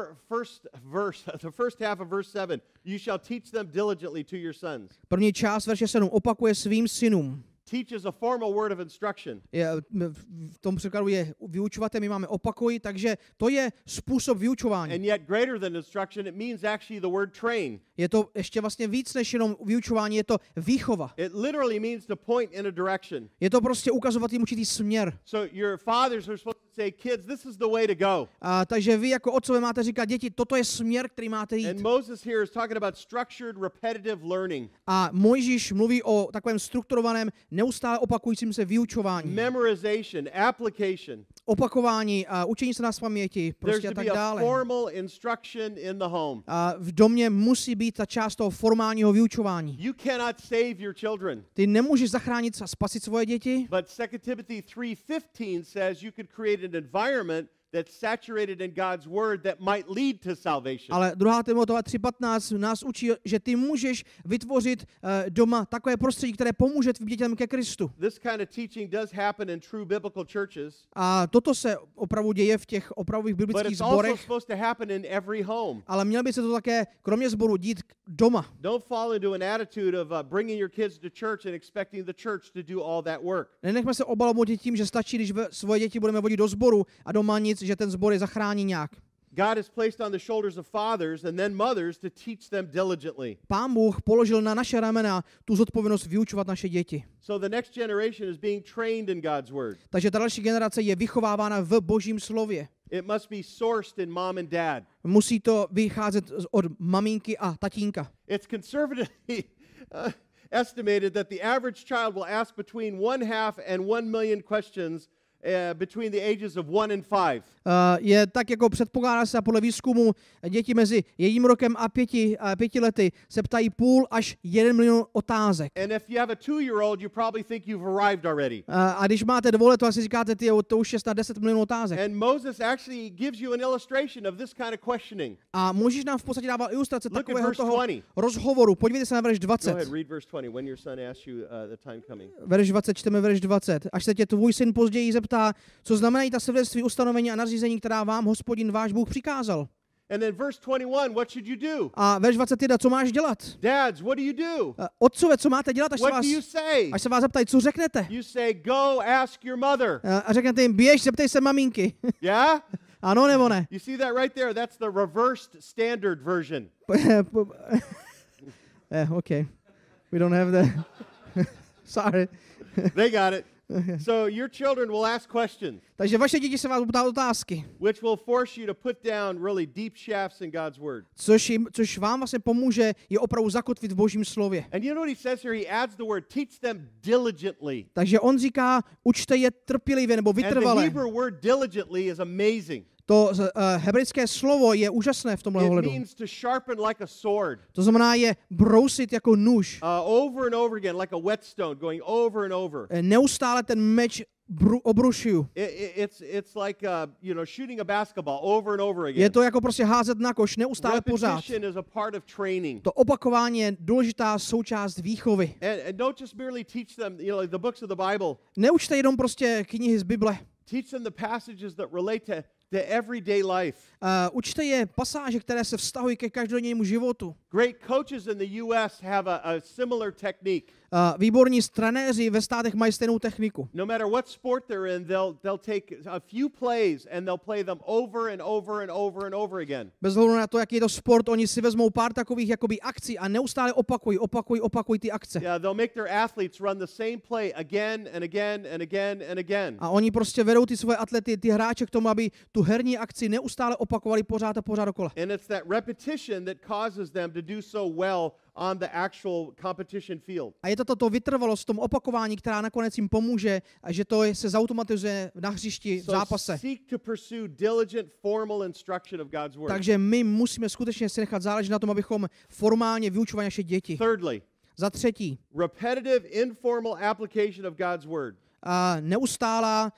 The first half of verse 7, you shall teach them diligently to your sons. První část verše 7 opakuje svým synům. Teach is a formal word of instruction. V tom překladu je vyučovat, my máme opakuj, takže to je způsob vyučování. And yet greater than instruction, it means actually the word train. Je to ještě vlastně víc než jenom vyučování, je to výchova. It literally means to point in a direction. Je to prostě ukazovat jim určitý směr. So your fathers are supposed to say, kids, this is the way to go. Takže vy jako otcové máte říkat, děti, toto je směr, který máte jít. And Moses here is talking about structured, repetitive learning. A Mojžíš mluví o takovém strukturovaném, neustále opakujícím se vyučování. Memorization, application. Opakování a učení se na paměti, There's prostě a to tak be a dále. formal instruction in the home. A v domě musí být ta část toho formálního vyučování. You cannot save your children. Ty nemůžeš zachránit a spasit svoje děti, But 2 Timothy 3:15 says you could create an environment that's saturated in God's word that might lead to salvation. ale 2. Timotova 3.15 nás učí, že ty můžeš vytvořit doma takové prostředí, které pomůže tvým dětem ke Kristu. This kind of teaching does happen in true biblical churches, A toto se opravdu děje v těch opravdových but biblických it's also sborech, supposed to happen in every home. ale mělo by se to také kromě sboru dít doma. Don't fall into an attitude of bringing your kids to church and expecting the church to do all that work. Nenechme se obalomoutit tím, že stačí, když svoje děti budeme vodit do sboru a doma nic, že ten sbor je zachrání nějak. God has placed on the shoulders of fathers and then mothers to teach them diligently. Pán Bůh položil na naše ramena tu zodpovědnost vyučovat naše děti. So the next generation is being trained in God's word. Takže ta další generace je vychovávána v Božím slově. It must be sourced in mom and dad. Musí to vycházet od maminky a tatínka. It's conservatively estimated that the average child will ask between 1/2 and 1 million questions between the ages of 1 and 5. Je tak jako předpokládá se podle výzkumu, děti mezi 1 rokem a 5 lety se ptají 0,5 až 1 milion otázek. And if you have a 2-year-old, you probably think you've arrived already. A když máte 2 let, to asi říkáte, to už je snad 10 milionů otázek. And Moses actually gives you an illustration of this kind of questioning. A Mojžíš nám v podstatě dával ilustrace Look at takového verse toho 20. rozhovoru. Podívejte se na verš Go 20. ahead, read verse 20 when your son asks you the time coming. Verš 20, čteme verš 20. Až se tě tvůj syn později zeptá, co znamenají ta svědectví, ustanovení a nařízení, která vám Hospodin váš Bůh přikázal. And then verse 21, what should you do? A verš 21, co máš dělat? Dads, what do you do? Otcové, co máte dělat, What do you say? až se vás zeptají, co řeknete? You say, go ask your mother. A řeknete jim, běž, zeptej se maminky. Yeah? Ano nebo ne? You see that right there? That's the reversed standard version. Okay. We don't have that. Sorry. They got it. So your children will ask questions, Takže vaše děti se vás budou ptát otázky, which will force you to put down really deep shafts in God's word. což vám vlastně pomůže je opravdu zakotvit v Božím slově. And you know what he says here? He adds the word, teach them diligently. Takže on říká, učte je trpělivě nebo And the vytrvale. Hebrew word diligently is amazing. To hebrejské slovo je úžasné v tomhle It ohledu. means to sharpen like a sword. To znamená je brousit jako nůž. Over and over again, like a whetstone, going over and over. Neustále ten meč obrušuju. It's like shooting a basketball over and over again. Je to jako prostě házet na koš, neustále pořád. Repetition is a part of training. To opakování je důležitá součást výchovy. And don't just merely teach them, the books of the Bible. Neučte jenom prostě knihy z Bible. Teach them the passages that relate to everyday life. Učte je pasáže, které se vztahují ke každodennímu životu. Great coaches in the US have a similar technique. Výborní trenéři ve státech mají stejnou techniku. No matter what sport they're in, they'll take a few plays and they'll play them over and over and over and over again. Bez ohledu na to, jaký je to sport, oni si vezmou pár takových jakoby akcí a neustále opakují ty akce. Yeah, they'll make their athletes run the same play again and again and again and again. A oni prostě vedou ty svoje atlety, ty hráče k tomu, aby tu herní akci neustále opakovali pořád a pořád dokola. And it's that repetition that causes them to do so well on the actual competition field. A je to toto vytrvalost v tom opakování, která nakonec jim pomůže, a že to se zautomatizuje na hřišti v zápase. Seek to pursue diligent formal instruction of God's word. Takže my musíme skutečně si nechat záležet na tom, abychom formálně vyučovali naše děti. Thirdly, Za třetí, repetitive informal application of God's word. Neustálá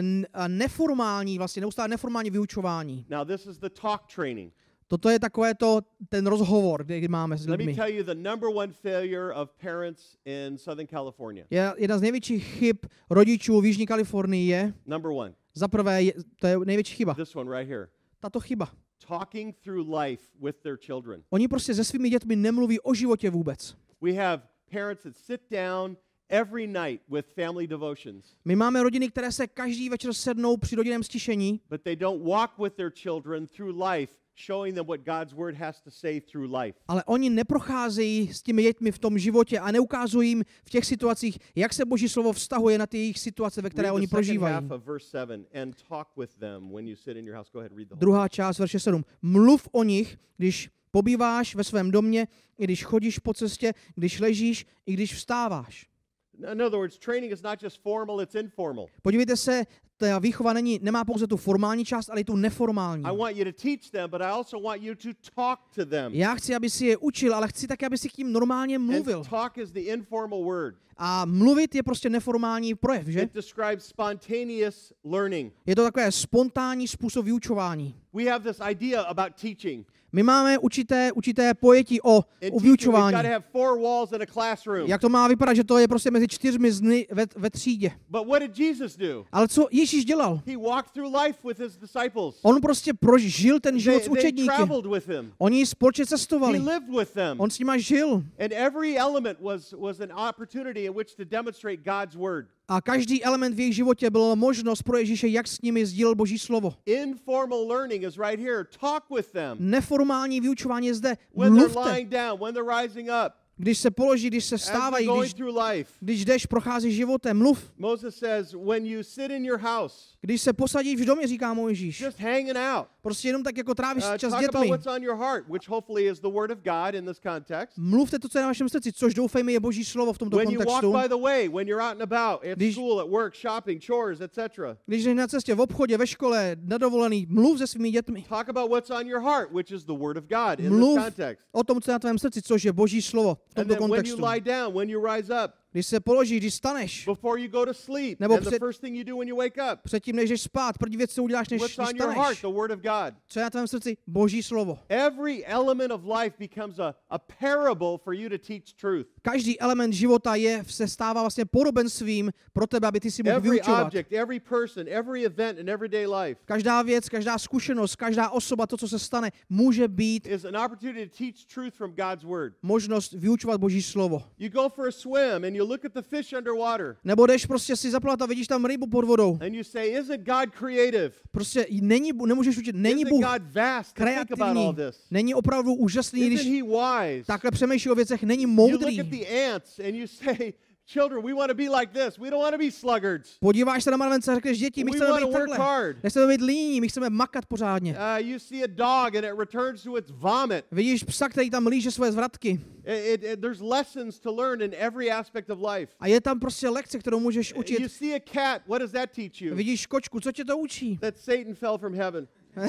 neformální vyučování. Now this is the talk training. Toto je takové ten rozhovor, který máme s Let me lidmi. tell you the number one failure of parents in Southern California. Jedna z největších chyb rodičů v Jižní Kalifornii je, Number one. za prvé, to je největší chyba, This one right here. tato chyba. Talking through life with their children. Oni prostě se svými dětmi nemluví o životě vůbec. We have parents that sit down every night with family devotions. My máme rodiny, které se každý večer sednou při rodinném stišení, But they don't walk with their children through life, showing them what God's word has to say through life. ale oni neprocházejí s těmi dětmi v tom životě a neukazují jim v těch situacích, jak se Boží slovo vztahuje na ty jejich situace, ve které Read oni the second prožívají. half of verse 7 and talk with them when you sit in your house. Go ahead, read the whole. Druhá část verše 7. Mluv o nich, když pobýváš ve svém domě, i když chodíš po cestě, když ležíš, i když vstáváš. In other words, training is not just formal, it's informal. Podívejte se, ta výchova nemá pouze tu formální část, ale i tu neformální. I want you to teach them, but I also want you to talk to them. Já chci, aby si je učil, ale chci také, aby si k tím normálně mluvil. And talk is the informal word. A mluvit je prostě neformální projev, že? It describes spontaneous learning. Je to takové spontánní způsob vyučování. We have this idea about teaching. My máme určité pojetí o vyučování. We've got to have 4 walls in a classroom. Jak to má vypadat, že to je prostě mezi 4 zdmi ve třídě. But what did Jesus do? Ale co Ježíš dělal? He walked through life with his disciples. On prostě prožil ten život s They učedníky. traveled with him. Oni společně He cestovali. lived with them. On s nima žil. And every element was an opportunity in which to demonstrate God's word. A každý element v jejich životě byl možnost pro Ježíše, jak s nimi sdílel Boží slovo. Informal learning is right here. Talk with them. Neformální vyučování je zde. When they're Mluvte. lying down, when they're rising up, Když se položí, když se as they're vstávají, going through life. když jdeš, prochází životem, mluv. Moses says, when you sit in your house, Když se posadíš v domě, říká Mojžíš. just hanging out. Prostě jenom tak jako trávíš čas s Talk about dětmi. what's on your heart, which hopefully is the word of God in this context. Mluvte to, co je na vašem srdci, což doufejme je Boží slovo v tomto When you walk kontextu. by the way, when you're out and about, at Když- school, at work, shopping, chores, etc. Když jdeš na cestě, v obchodě, ve škole, na dovolený, mluv se svými dětmi. Talk about what's on your heart, which is the word of God in this Mluv context. o tom, co je na tvém srdci, což je Boží slovo v And tomto then when you kontextu. lie down, when you rise up, Když se položíš, když staneš, before you go to sleep, Nebo and the před- first thing you do when you wake up, předtím, než jdeš spát, první věc, co uděláš, než what's on your heart, staneš. the word of God. Co je na tvém srdci? Boží slovo. Every element of life becomes a parable for you to teach truth. Každý element života se stává vlastně podobenstvím pro tebe, aby ty si mohl Every vyučovat. object, every person, every event in everyday life Každá věc, každá zkušenost, každá osoba, to, co se stane, může být is an opportunity to teach truth from God's word. možnost vyučovat Boží slovo. You go for a swim and you look at the fish underwater Nebo jdeš prostě si zaplavat a vidíš tam rybu pod vodou. and you say, isn't God creative? Prostě nemůžeš učit, není Isn't Bůh God vast to think about kreativní, all this? není opravdu úžasný, Isn't když he wise? takhle přemýšlí o věcech, není You look at moudrý. the ants and you say, children, we want to be like this. We don't want to be sluggards. Podíváš se na mravence a řekneš, děti, my We chceme wanna být work takhle. hard. Nechceme být líní, my chceme makat pořádně. You see a dog and it returns to its vomit. Vidíš psa, který tam líže svoje zvratky. There's lessons to learn in every aspect of life. A je tam prostě lekce, kterou můžeš You učit. see a cat, what does that teach you? Vidíš kočku, co tě to učí? That Satan fell from heaven.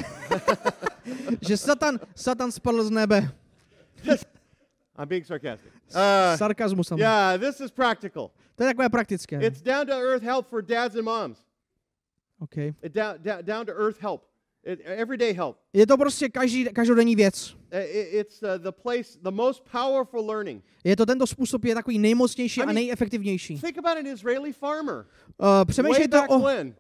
Že Satan spadl z nebe. I'm being sarcastic. Sarkazmus tam. Yeah, this is practical. To je takové praktické. It's down to earth help for dads and moms. Okay. Down to earth help. Everyday help. Je to prostě každodenní věc. It's the place, the most powerful learning. Je to tento způsob je takový nejmocnější I a mean, nejefektivnější. Think about an Israeli farmer. Přemýšlejte Way back when.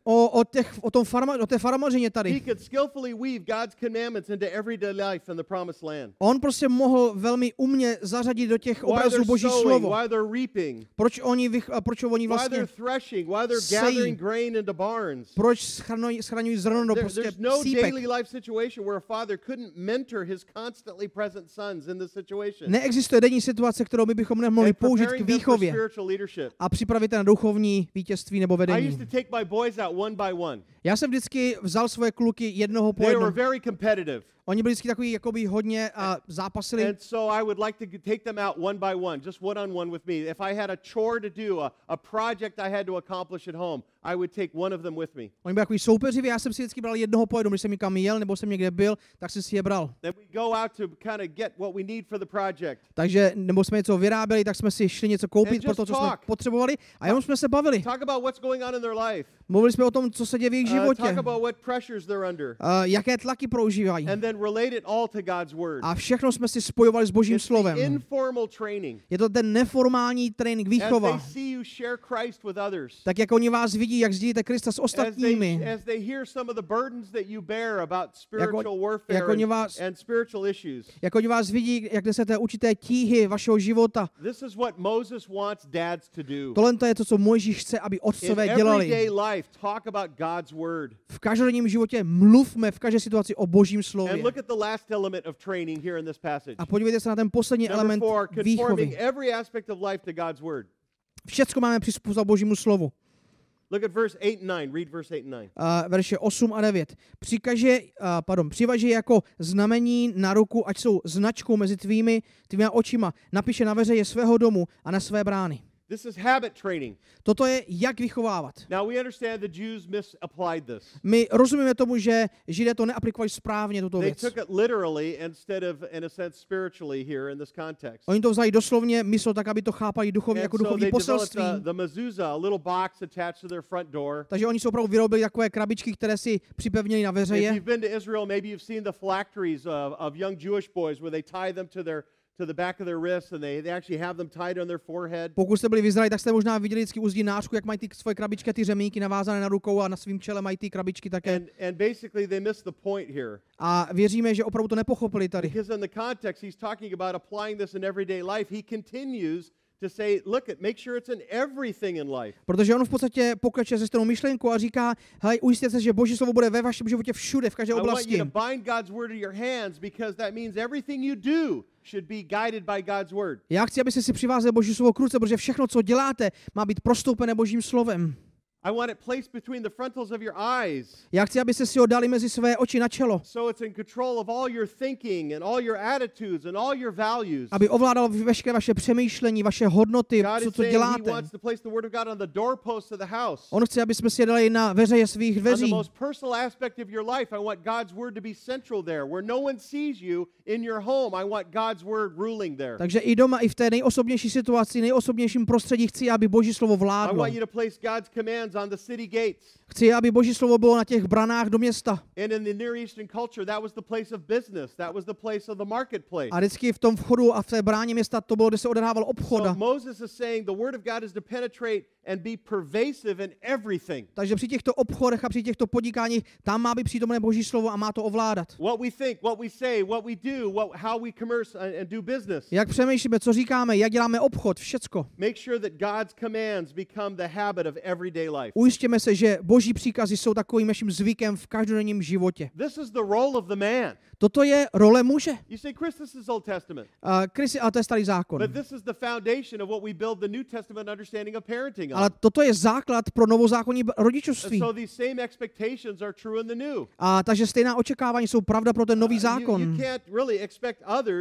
o té farmařině He tady. could skillfully weave God's commandments into everyday life in the promised land. On prostě mohl velmi umně zařadit do těch While obrazů they're Boží sowing, slovo. while they're reaping, Proč oni while vlastně, they're threshing, while they're sejí. gathering grain into barns. proč schraňují zrno do prostě There's no sípek. daily life situation where a father couldn't mentor his constantly present sons in this situation. Neexistuje denní situace, kterou my bychom nemohli And použít k preparing them for výchově spiritual leadership. a připravit je na duchovní vítězství nebo I used vedení. to take my boys out one by one. Já jsem vždycky vzal svoje kluky jednoho po They were jednom. very competitive. Oni byli vždycky takový jakoby hodně zápasili. And so I would like to take them out one by one, just one on one with me. If I had a chore to do, a project I had to accomplish at home, I would take one of them with me. Oni byli takový soupeřiví, já jsem si vždycky bral jednoho po jednom, když jsem někam jel nebo jsem někde byl, tak jsem si je bral. Then we go out to kind of get what we need for the project. Takže, nebo jsme něco vyráběli, tak jsme si šli něco koupit pro to, co jsme potřebovali a jenom jsme se bavili. Talk about what's going on in their life. Mluvili jsme o tom, co se děje v jejich životě. Talk about what pressures they're under. Jaké tlaky prožívají. And then relate it all to God's word. A všechno jsme si spojovali s Božím It's the slovem. informal training. Je to ten neformální trénink, As they výchova. see you share Christ with others. Tak jak oni vás vidí, jak sdílíte Krista s ostatními. As they hear some of the burdens that you bear about spiritual warfare and spiritual issues. Jak oni vás vidí, jak nesete určité tíhy vašeho života. This is what Moses wants dads to do. Tohle je to, co Mojžíš chce, aby otcové dělali. In everyday life, talk about God's word. V každodenním životě mluvme v každé situaci o Božím slově. And look at the last element of training here in this passage. A podívejte se na ten poslední element výchovy. Conforming every aspect of life to God's word. Všecko máme přizpůsobit Božímu slovu. Look at verse 8 and 9. Read verse 8 and 9. Verše 8 a 9. Přivaži jako znamení na ruku, ať jsou značkou mezi tvými očima. Napiše na veřeje svého domu a na své brány. This is habit training. Toto je, jak vychovávat. Now we understand the Jews misapplied this. My rozumíme tomu, že Židé to neaplikovali správně, tuto věc. They took it literally instead of, in a sense, spiritually here in this context. Oni to vzali doslovně, myslel tak, aby to chápali duchovně jako duchovní poselství. The mezuzah, a little box attached to their front door. Takže oni si opravdu vyrobili takové krabičky, které si připevnili na veřeje. If you've been to Israel, maybe you've seen the phylacteries of young Jewish boys where they tie them to the back of their wrists and they actually have them tied on their forehead. Pokud jste byli v Izraeli, tak jste možná viděli vždycky u zdí nářku, jak mají ty svoje krabičky a ty řemínky navázané na rukou a na svým čele mají ty krabičky také. And basically they missed the point here. A věříme, že opravdu to nepochopili tady. Because in the context he's talking about applying this in everyday life, he continues to say, look, make sure it's in everything in life. Protože on v podstatě pokračuje se stejnou myšlenkou a říká, hej, ujistěte se, že Boží slovo bude ve vašem životě všude, v každé oblasti. I want you to bind God's word to your hands because that means everything you do should be guided by God's word. Já chci, abyste si přivázali Boží slovo k ruce, protože všechno, co děláte, má být prostoupené Božím slovem. I want it placed between the frontals of your eyes. Já chci, abyste si ho dali mezi své oči na čelo. So it's in control of all your thinking and all your attitudes and all your values. Aby ovládal veškeré vaše přemýšlení, vaše hodnoty, co děláte. He wants to place the word of God on the doorpost of the house. On chce, aby jsme si je dali na veřeje svých dveří. On the most personal aspect of your life, I want God's word to be central there. Where no one sees you in your home, I want God's word ruling there. Takže i doma, i v té nejosobnější situaci, nejosobnějším prostředí chci, aby Boží slovo I vládlo. want you to place God's commands on the city gates. Chci, aby Boží slovo bylo na těch branách do města. And in the Near Eastern culture, that was the place of business. That was the place of the marketplace. A vždycky v tom vchodu a v té bráně města to bylo, kde se odehrával obchod. So Moses is saying the word of God is to penetrate and be pervasive in everything. Takže při těchto obchodech a při těchto podnikáních tam má být přítomné Boží slovo a má to ovládat. What we think, what we say, what we do, how we commerce and do business. Jak přemýšlíme, co říkáme, jak děláme obchod, všecko. Make sure that God's commands become the habit of everyday life. Ujistěme se, že Boží příkazy jsou takovým naším zvykem v každodenním životě. This is the role of the man. Toto je role muže. You say, Chris, this is Old Testament. A to je starý zákon. But this is the foundation of what we build the New Testament understanding of parenting on. Ale toto je základ pro novozákonní rodičovství. So these same expectations are true in the new. A takže stejná očekávání jsou pravda pro ten nový zákon. You can't really expect others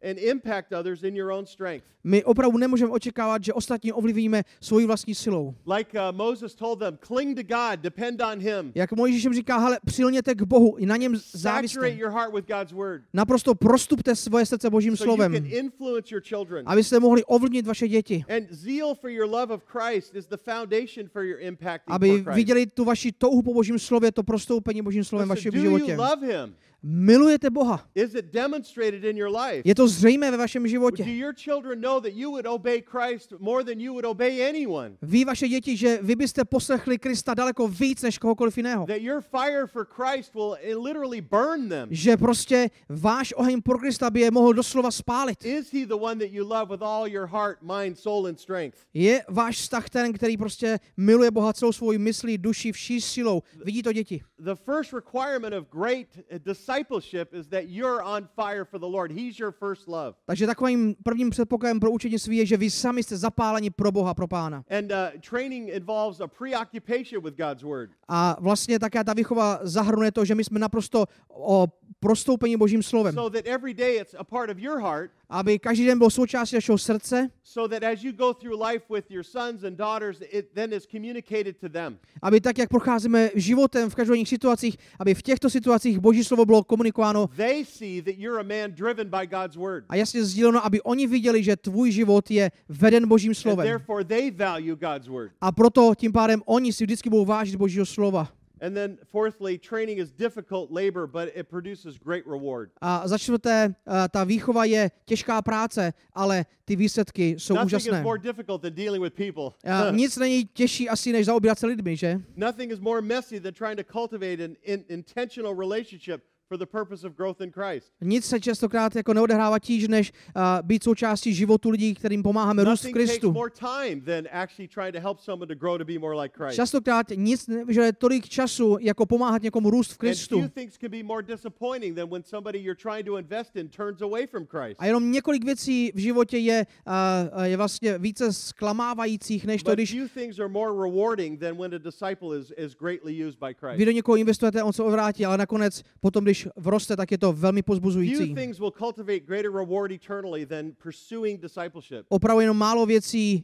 and impact others in your own strength. My opravdu nemůžeme očekávat, že ostatní ovlivníme svojí vlastní silou. Like Moses told them, cling to God, depend on him. Jak Mojžíš jim říká, hele, přilněte k Bohu, i na něm Saturate záviste. your heart with God's word. Naprosto prostupte svoje srdce Božím So you slovem, can influence your children. abyste mohli ovlivnit vaše děti. And zeal for your love of Christ is the foundation for your impacting Aby for Christ. viděli tu vaši touhu po Božím slově, to prostoupení Božím slovem Listen, vašem do životě. you love him? Milujete Boha. Is it demonstrated in your life? Je to zřejmé ve vašem Do životě. your children know that you would obey Christ more than you would obey anyone? Ví vaše děti, že vy byste poslechli Krista daleko víc než kohokoliv jiného. That your fire for Christ will literally burn them? Že prostě váš oheň pro Krista by je mohl doslova spálit. Is he the one that you love with all your heart, mind, soul and strength? Je váš vztah ten, který prostě miluje Boha celou svou myslí, duši, vší silou. Vidí to děti. The first requirement of great discipleship is that you're on fire for the Lord. He's your first love. Takže takovým prvním předpokladem pro učednictví je, že vy sami jste zapáleni pro Boha, pro Pána. And training involves a preoccupation with God's word. A vlastně také ta výchova zahrnuje to, že my jsme naprosto o prostoupení Božím slovem. So that every day it's a part of your heart. Aby každý den byl součástí našeho srdce. So that as you go through life with your sons and daughters, it then is communicated to them. Aby tak, jak procházíme životem v každodenních situacích, aby v těchto situacích Boží slovo bylo komunikováno They see that you're a man driven by God's word. a jasně sdíleno, aby oni viděli, že tvůj život je veden Božím And slovem. therefore they value God's word. A proto tím pádem oni si vždycky budou vážit Božího slova. And then fourthly, training is difficult labor, but it produces great reward. A za čtvrté, ta výchova je těžká práce, ale ty výsledky jsou Nothing úžasné. is more difficult than dealing with people. Nic není těžší asi, než zaobírat se lidmi, že? Nothing is more messy than trying to cultivate an intentional relationship for the purpose of growth in Christ. Nic se častokrát jako neodehrává tíž, než být součástí životu lidí, kterým pomáháme růst v Nothing takes Kristu. more time than actually trying to help someone to grow to be more like Christ. Častokrát nic nevyžaduje tolik času, jako pomáhat někomu růst v And Kristu. few things can be more disappointing than when somebody you're trying to invest in turns away from Christ. A jenom několik věcí v životě je vlastně více zklamávajících, než to, But když few things are more rewarding than when a disciple is greatly used by Christ. vy do někoho investujete, on se odvrátí, ale nakonec potom, když vroste, tak je to velmi Few pozbuzující. things will cultivate greater reward eternally than pursuing discipleship. Opravdu jenom málo věcí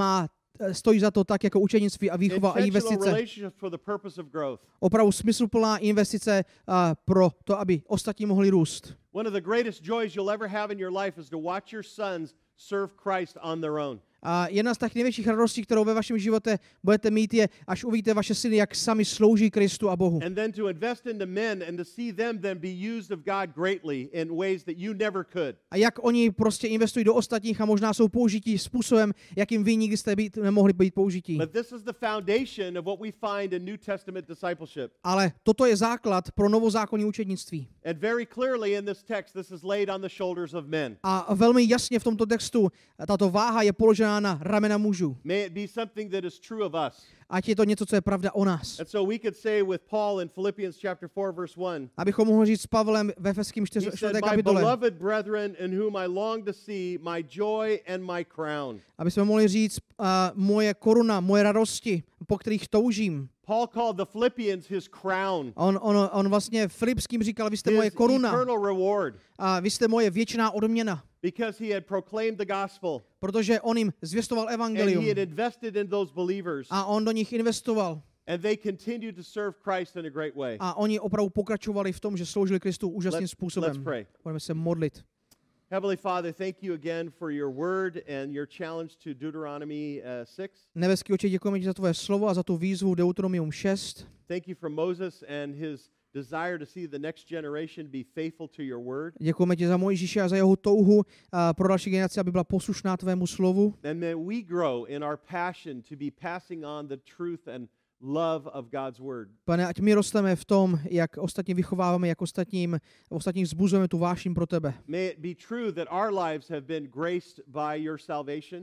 stojí za to tak jako učenictví a výchova a Intentional investice. relationships for the purpose of growth. Opravdu smysluplná investice pro to, aby ostatní mohli růst. One of the greatest joys you'll ever have in your life is to watch your sons serve Christ on their own. A jedna z těch největších radostí, kterou ve vašem životě budete mít, je, až uvidíte vaše syny, jak sami slouží Kristu a Bohu. And then to invest into men and to see them then be used of God greatly in ways that you never could. A jak oni prostě investují do ostatních a možná jsou použití způsobem, jakým vy nikdy jste nemohli být použití. But this is the foundation of what we find in New Testament discipleship. Ale toto je základ pro novozákonní učednictví. And very clearly in this text, this is laid on the shoulders of men. A velmi jasně v tomto textu tato váha je položená na ramena mužů. May it be something that is true of us. Ať je to něco, co je pravda o nás. And so we could say with Paul in Philippians chapter 4 verse 1, Abychom mohli říct s Pavlem ve Efeským he 4. said, my kapitole. beloved brethren in whom I long to see my joy and my crown. Aby jsme mohli říct moje koruna, moje radosti, po kterých toužím. Paul called the Philippians his crown. On vlastně Filipským říkal, vy jste His moje koruna eternal reward. a vy jste moje věčná odměna. Because he had proclaimed the gospel. Protože on jim zvěstoval And evangelium he had invested in those believers. a on do nich investoval. And they continued to serve Christ in a great way. A oni opravdu pokračovali v tom, že sloužili Kristu úžasným způsobem. Let's pray. Budeme se modlit. Heavenly Father, thank you again for your word and your challenge to Deuteronomy 6. Nebeský Otče, děkujeme ti za tvoje slovo a za tu výzvu Deuteronomium 6. Thank you for Moses and his desire to see the next generation be faithful to your word. Děkujeme ti za Mojžíše a za jeho touhu pro další generaci, aby byla poslušná tvému slovu. And may we grow in our passion to be passing on the truth and love of God's word. Pane, ať my rosteme v tom, jak ostatní vychováváme, jak ostatních vzbuzujeme tu vášeň pro tebe. May it be true that our lives have been graced by your salvation.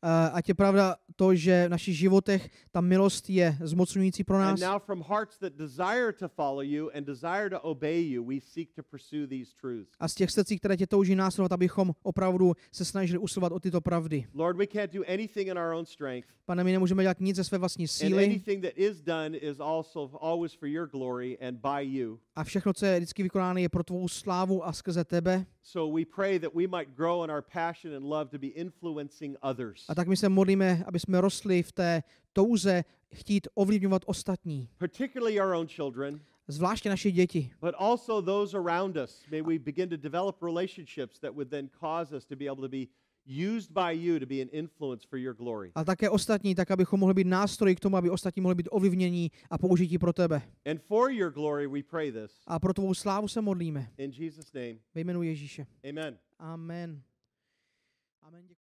ať je pravda to, že v našich životech ta milost je zmocňující pro And nás. now from hearts that desire to follow you and desire to obey you, we seek to pursue these truths. A z těch srdcí, které tě touží následovat, abychom opravdu se snažili usilovat o tyto pravdy. Lord, we can't do anything in our own strength. Pane, my nemůžeme dělat nic ze své vlastní And síly anything that is done is also always for your glory and by you. a všechno, co je vždycky vykonáno, je pro tvou slávu a skrze tebe. So we pray that we might grow in our passion and love to be influencing others. A tak my se modlíme, aby jsme rostli v té touze chtít ovlivňovat ostatní, Particularly our own children, zvláště naše děti, but also those around us. May we begin to develop relationships that would then cause us to be able to be used by you to be an influence for your glory. a také ostatní, tak abychom mohli být nástroji k tomu, aby ostatní mohli být ovlivnění a použití pro tebe. And for your glory we pray this. A pro tvou slávu se modlíme. In Jesus' name, Ve jménu Ježíše. amen. Amen. Amen.